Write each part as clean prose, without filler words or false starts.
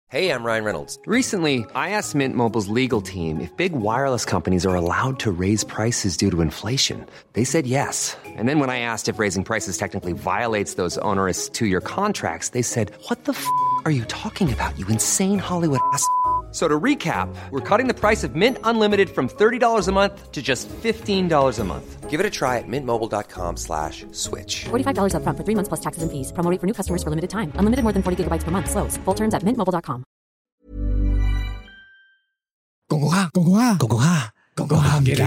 Hey, I'm Ryan Reynolds. Recently, I asked Mint Mobile's legal team if big wireless companies are allowed to raise prices due to inflation. They said yes. And then when I asked if raising prices technically violates those onerous two-year contracts, they said, "What the f*** are you talking about, you insane Hollywood ass?" So to recap, we're cutting the price of Mint Unlimited from $30 a month to just $15 a month. Give it a try at mintmobile.com/switch. $45 up front for 3 months plus taxes and fees. Promo rate for new customers for limited time. Unlimited more than 40 gigabytes per month. Slows full terms at mintmobile.com. 公公蝦，公公蝦，公公蝦，公公蝦唔記得。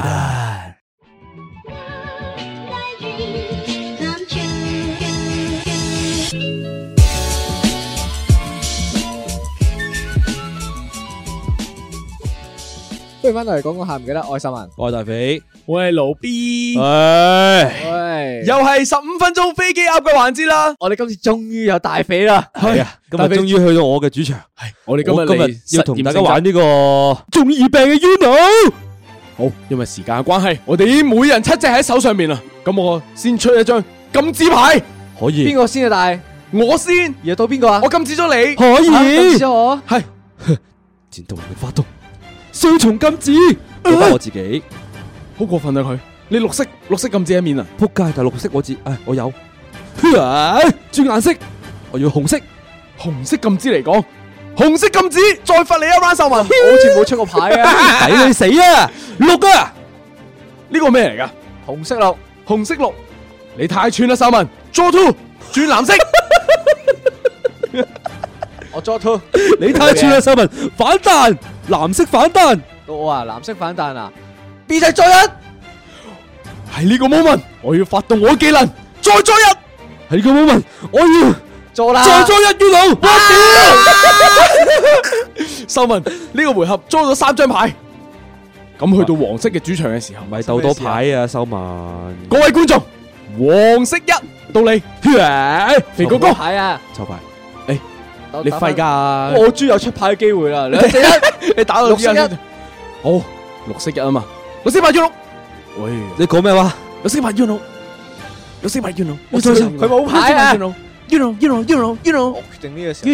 不如翻到嚟講下唔記得愛心人， 我係大肥， 我係盧 B， 喂， 又係15分鐘飛機鴨嘅環節啦。 我哋今次終於有大肥啦， 係啊，今日終於去到我嘅主場， 係我哋今日要同大家玩呢個中二病嘅 Uno。 好，因為時間嘅關係，我哋已經每人7隻喺手上面啦。咁我先出一張金紙牌， 可以。 邊個先啊？大我先， 而到邊個啊？ 我禁止咗你， 可以。 禁止咗我， 係戰鬥力發動，雙重禁止，我得我自己， 好過分啊佢！你綠色禁止一面啊！ 撲街，但係綠色我有，轉顏色，我要紅色禁止嚟講，紅色禁止，再罰你一 round 秀文， 我好似冇出過牌啊！ 抵你死啊！綠啊！ 呢個咩嚟噶？ 紅色綠， 你太串啦，秀文 ，draw two 轉藍色， 我 draw two， 你太串啦，秀文，反彈，藍色反彈， 到我啊，藍色反彈啊 ，B 仔再一， 係呢個 moment，我要發動我技能，再一， 係呢個 moment，我要做啦， 再一 Uno， 我屌！秀文呢個回合裝咗3張牌，咁去到黃色嘅主場嘅時候， 唔係鬥多牌啊，秀文， 各位觀眾，黃色1到你，肥哥哥牌啊， 抽牌。 你廢㗎！ 我終於有出牌嘅機會啦！兩隻一， 你打到綠色一， 好綠色1啊嘛，綠色牌 Uno， 喂， 你講咩話？ 綠色牌 Uno， 綠色牌 Uno， 佢冇牌啊 ！Uno， 我決定呢個時候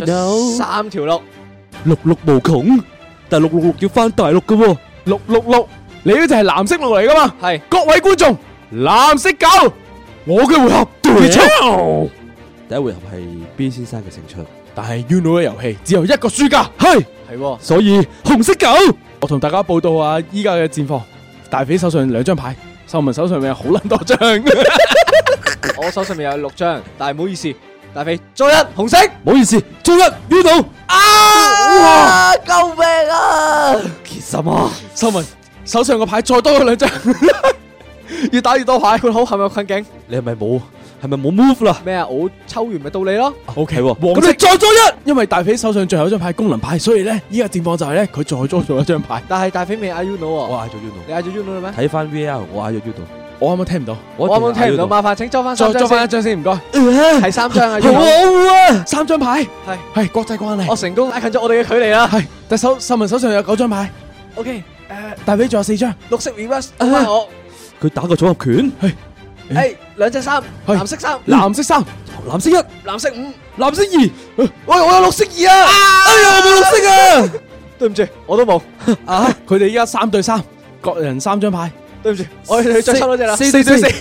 3條綠， 六無窮，但係666要翻大陸嘅喎 ，666，你呢就係藍色綠嚟㗎嘛？ 係各位觀眾，藍色9，我嘅回合結束。 第一回合係 B 先生嘅勝出。 但係 Uno 嘅遊戲只有一個輸家，係， 所以紅色9， 我同大家報道下依家嘅戰況。大肥手上2張牌，秀文手上面有好撚多張， 我手上面有6張，但係唔好意思，大肥再一紅色， 唔好意思，再一 Uno， 哇！救命啊！ 其實啊， 秀文手上個牌再多咗2張，越打越多牌， 佢好係咪有困境？ 你係咪冇 move 啦？ 咩啊？我抽完咪到你咯。 OK， 黃咁你再多一，因為大肥手上最後一張牌功能牌，所以咧依家戰況就係咧佢再多咗1張牌。 但係大肥未嗌 Uno 喎， 我嗌咗 Uno， 你嗌咗 Uno 啦咩？ 睇翻 VAR， 我嗌咗 Uno， 我啱啱聽唔到， 我啱啱聽唔到，麻煩請裝翻3張先， 再裝翻1張先，唔該。 係3張啊， 好啊 ，3張牌，係國際關係， 我成功拉近咗我哋嘅距離啦。 係，但秀文手上有9張牌。 OK， 大肥仲有4張， 綠色 reverse，翻我。 佢打個組合拳， 係2隻3，藍色3， 藍色3， 藍色1， 藍色5， 藍色2， 喂，我有綠色2啊！ 哎呀，我冇綠色啊！ 對唔住，我都冇。 啊，佢哋依家3對3，各人3張牌。 對唔住，我哋再抽多隻啦。 4對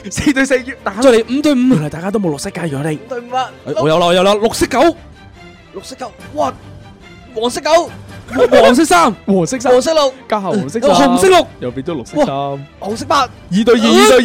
4，打再嚟5對5， 原來大家都冇綠色㗎，如果你 5對5啊！ 我有啦，綠色9， 綠色9，哇！黃色9， 黃色3， 黃色3， 黃色6， 加下黃色紅色6， 又變咗綠色3， 紅色8 ，2對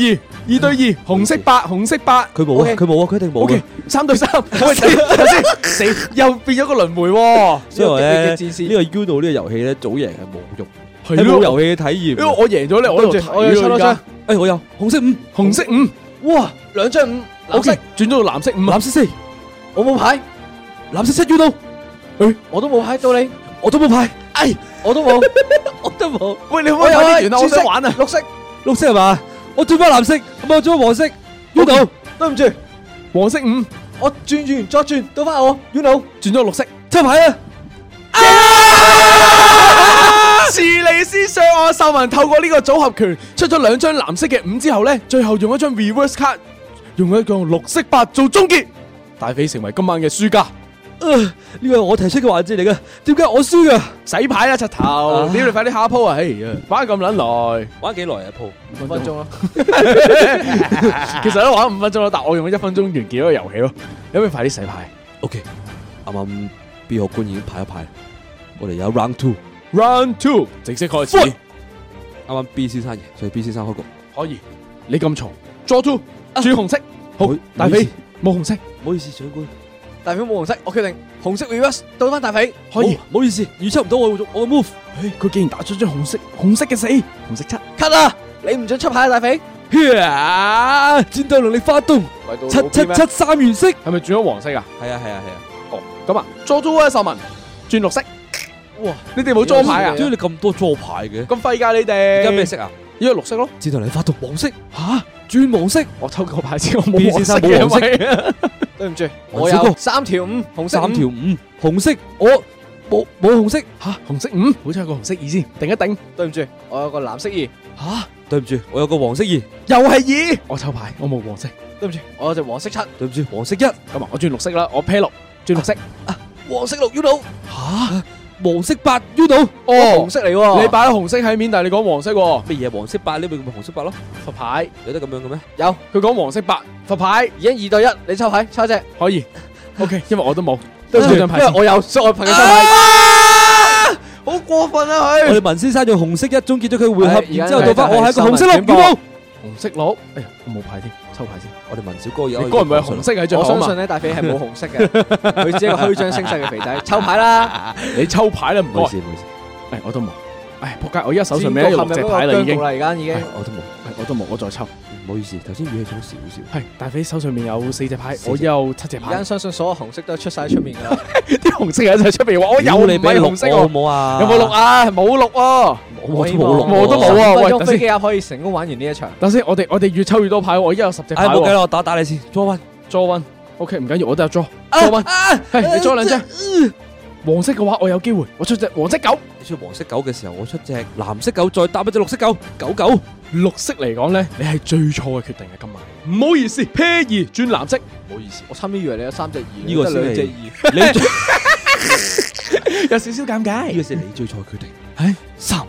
2，紅色8，紅色8， 佢冇啊，佢一定冇嘅。 3對3，喂，等先，死又變咗個輪迴喎。 所以話咧，呢個 Uno 呢個遊戲咧，早贏係冇用，係冇遊戲嘅體驗。 因為我贏咗咧，我喺度睇。 我要抽多張。 誒，我有紅色5， 紅色5， 哇，2張5，藍色轉咗到藍色5， 藍色4， 我冇牌， 藍色7 Uno， 我都冇牌到你， 我都冇牌， 我都冇， 我都冇。 喂，你可唔可以快啲完啊？我想玩啊！ 綠色係嘛？我轉翻藍色，咁我轉翻黃色 Uno， 對唔住， 黃色5， 我轉完再轉，到翻我 Uno， 轉咗綠色， 抽牌啊！ 是尼斯上岸，秀文透過呢個組合拳出咗2張藍色嘅5之後咧，最後用一張 reverse card，用一個綠色8做終結，大肥成為今晚嘅輸家。 呢個係我提出嘅環節嚟嘅，點解我輸噶？ 洗牌啦，柒頭！屌你快啲下一鋪啊！哎呀，玩咁撚耐， 玩幾耐啊鋪 5分鐘咯。 其實都玩5分鐘咯，但我用咗1分鐘完結咗個遊戲咯。有咩快啲洗牌 ？OK，啱啱 B 學官已經排一排，我哋有 Round 2， ？Round 2正式開始。 啱啱 B 先生贏，所以 B 先生開局。 可以，你咁嘈 ，Draw 2轉紅色。好，大肥冇紅色， 唔好意思，長官。 大肥冇紅色，我決定紅色 reverse 倒翻大肥。 可以。 唔好意思，預測唔到我嘅 move。 佢竟然打出張紅色嘅死，紅色7。 cut 啊！你唔准出牌啊，大肥。 戰鬥能力發動，777原色， 係咪轉咗黃色啊？ 係啊。 哦，咁啊，Draw 2啊，秀文轉綠色。哇！你哋冇裝牌啊？ 點解你咁多裝牌嘅？ 咁廢㗎你哋！ 而家咩色啊？ 依家綠色咯。 戰鬥能力發動黃色，吓轉黃色。 我抽個牌先，我冇黃色嘅。 冇黃色。 對唔住，我有3條5，紅色 3條5，紅色我冇紅色。 吓，紅色5，好彩有個紅色2先，定一定。 對唔住，我有個藍色2。 吓，對唔住，我有個黃色2， 又係2。我抽牌，我冇黃色。 對唔住，我有隻黃色7。 對唔住，黃色1。 咁啊，我轉綠色啦，我 pair 6，轉綠色。 黃色6 Uno。 吓，黃色8 Uno。 哦， 紅色嚟喎。 你擺咗紅色喺面，但係你講黃色喎。 乜嘢黃色8？呢咪紅色8咯？ 罰牌有得咁樣嘅咩？ 有， 佢講黃色8，罰牌。 而家2對1，你抽牌，抽一隻。 可以。OK，因為我都冇。 對唔住，因為我有，所以我憑佢抽牌。好過分啊佢！ 我哋文先生用紅色1終結咗佢回合， 係然之後到翻我係一個紅色6 Uno。 紅色6，哎呀，我冇牌添，抽牌先。 我哋文小哥而家你該唔會係紅色喺最後啊嘛？ 我相信咧，大肥係冇紅色嘅，佢只係一個虛張聲勢嘅肥仔。抽牌啦， 你抽牌啦，唔該。 唔好意思，唔好意思。 哎，我都冇。哎，仆街！我而家手上面有6隻牌啦，已經。 而家已經。 我都冇， 我都冇，我再抽。 唔好意思，頭先語氣重少少。 係大肥手上面有4隻牌，我有7隻牌。 而家相信所有紅色都出晒喺出面噶啦。 啲紅色喺晒出面話我有， 你俾紅色好冇啊？ 有冇6啊？冇6喎。 我都冇6， 我都冇啊。喂， 用飛機鴨可以成功玩完呢一場。 等先，我哋越抽越多牌，我而家有10隻牌。 冇計啦，我打你先。Draw 1。 OK， 唔緊要，我都有 draw。Draw 1。係你 draw 2張。黃色嘅話，我有機會，我出隻黃色9。 你出黃色9嘅時候，我出隻藍色9，再搭一隻綠色9。99。 綠色嚟講咧，你係最錯嘅決定嘅今晚。唔好意思 ，pair 2轉藍色。唔好意思， 我差啲以為你有3隻2， 呢個先 2隻係 2。 你有少少尷尬。 呢個先係你最錯嘅決定。 係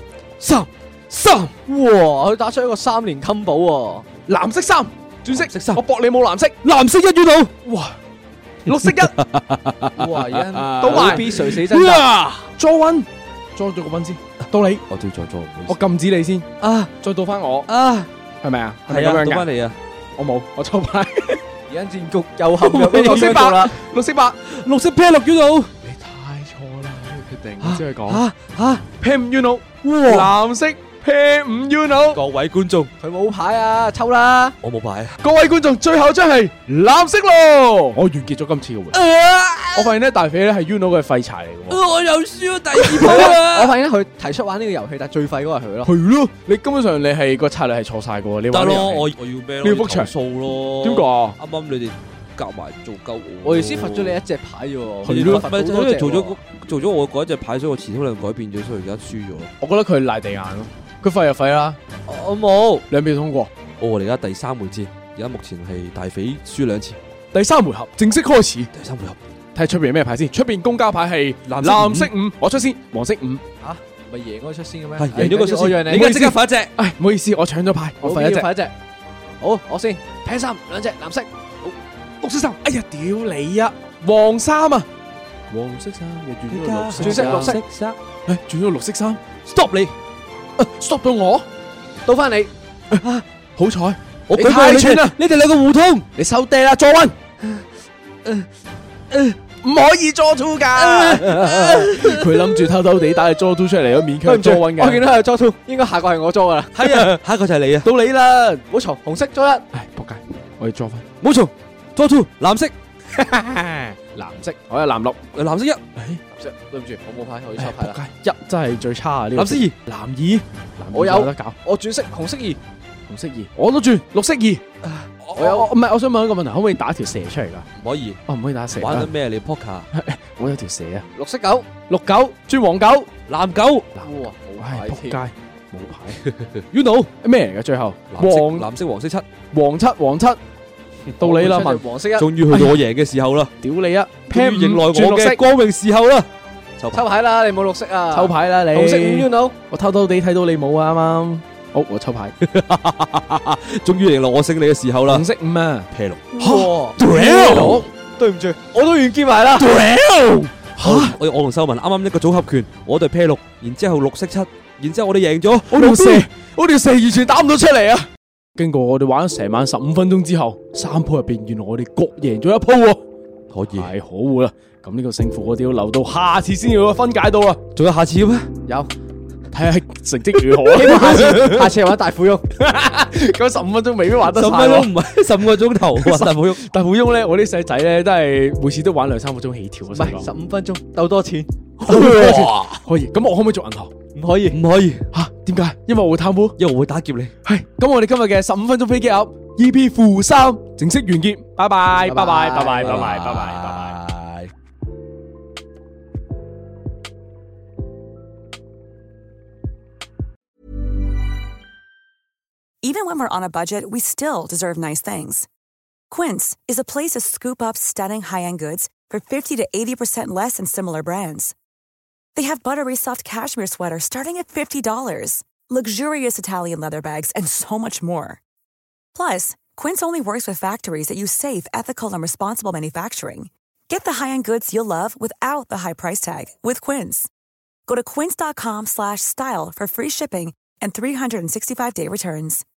3。 哇！佢打出一個3連 combo 喎。 藍色3轉色， 藍色3 我搏你冇藍色。 藍色1 Uno。 哇！綠色1。 哇！而家倒埋 B 垂死掙扎。 draw 1，draw 咗個分先，到你， 我都要再 draw，唔好意思。 我禁止你先， 啊再到翻我， 啊！ 係咪啊？係咪係啊， 咁樣㗎？ 到翻你啊！ 我冇，我抽牌。 而家戰局又陷入呢個綠色角啦。 8，綠色8， 綠色 pair 6 Uno。 你太錯啦！呢個決定，我只係講嚇 pair 5 Uno，藍色 pair 5 Uno。 各位觀眾， 佢冇牌啊，抽啦！ 我冇牌。 各位觀眾，最後一張係藍色咯。我完結咗今次嘅回合。我發現咧，大肥咧係 Uno 嘅廢柴嚟嘅喎。 我又輸咗第2鋪啦。 我發現咧，佢提出玩呢個遊戲，但係最廢嗰個係佢咯。 係咯，你根本上你係個策略係錯晒嘅喎。你得咯， 玩呢個遊戲我要咩咯？ 你要覆場數咯。 點解啊？ 啱啱你哋夾埋做鳩我。 我哋先罰咗你一隻牌啫喎。 係咯，咪就因為做做咗我嗰一隻牌，所以我前途量改變咗，所以而家輸咗。 我覺得佢賴地硬咯，佢廢就廢啦， 我冇兩秒通過。 我哋而家第3回戰，而家目前係大肥輸2次。 第3回合正式開始， 第3回合睇下出邊咩牌先。出邊公交牌係藍藍色5，我出先，黃色5。 嚇，咪贏嗰個出先嘅咩？ 係贏咗個出先， 我讓你。 你而家即刻發一隻。 唉，唔好意思，我搶咗牌，我廢一隻。 快一隻。好，我先。平3，兩隻藍色。 綠色3，哎呀，屌你啊！黃3啊，黃色3又轉咗綠色， 轉色綠色。 唉，轉咗綠色3 ，stop 你，stop 到我， 到翻你。 好彩， 我你太串啦！ 你哋兩個互通， 你收爹啦，Draw 1。唔可以 draw 2噶，佢諗住偷偷地打你 draw 2出嚟，都勉強 draw 1嘅。 我見到係 draw 2，應該下個係我 draw 噶啦。 係啊，下一個就係你啊， 到你啦， 唔好嘈，紅色 draw 1。 唉，仆街，我要 draw 翻， 冇錯，draw 2，藍色， 藍色，我有藍綠， 藍色1， 藍色，對唔住，我冇牌，我要抽牌啦。 仆街，1真係最差啊！呢個藍色2， 藍2， 我有得搞， 我轉色紅色2， 紅色2，我都轉綠色2。我有，唔係，我想問一個問題，可唔可以打條蛇出嚟噶？ 唔可以， 哦，唔可以打蛇。 玩緊咩你 poker？ 我有條蛇啊， 綠色9， 綠9轉黃9， 藍9， 哇，冇唉， 牌添。 仆街，冇牌。You know 咩嚟嘅？最後藍色黃色7， 黃7， 到你啦，文， 黃色一， 終於去到我贏嘅時候啦， 屌你啊！ 終於迎來我轉綠色嘅光榮時候啦！ 抽牌啦，你冇綠色啊， 抽牌啦你。 紅色5 Uno， 我偷偷地睇到你冇啊啱啱。好，我抽牌。 終於迎來我勝利嘅時候啦！ 紅色5啊， 啤六， 哇， 屌， 對唔住，我都完結埋啦。 我同秀文啱啱一個組合拳，我哋啤六，然之後綠色7，然之後我哋贏咗。 我條蛇完全打唔到出嚟啊！經過我哋玩咗成晚15分鐘之後，3鋪入邊原來我哋各贏咗1鋪喎。 可以， 太可惡啦！咁呢個勝負我哋要留到下次先要分解到啊！ 仲有下次嘅咩？ 有， 睇下成績如何啊！ 希望下次係玩大富翁。 咁15分鐘未必玩得晒 15分鐘唔係15個鐘頭，哇！大富翁， 大富翁咧，我啲細仔咧都係每次都玩2-3個鐘起跳啊！ 唔係15分鐘鬥多錢， 哇，可以，咁我可唔可以做銀行？ 唔可以， 唔可以吓？點解？因為我會貪污， 因為我會打劫你。 係咁，我哋今日嘅15分鐘飛機鴨 EP-3正式完結，拜拜，拜拜，拜拜，拜拜，拜拜，拜拜。 Even when we're on a budget, we still deserve nice things. Quince is a place to scoop up stunning high-end goods for 50 to 80% less than similar brands. They have buttery soft cashmere sweaters starting at $50, luxurious Italian leather bags, and so much more. Plus, Quince only works with factories that use safe, ethical, and responsible manufacturing. Get the high-end goods you'll love without the high price tag with Quince. Go to quince.com/style for free shipping and 365-day returns.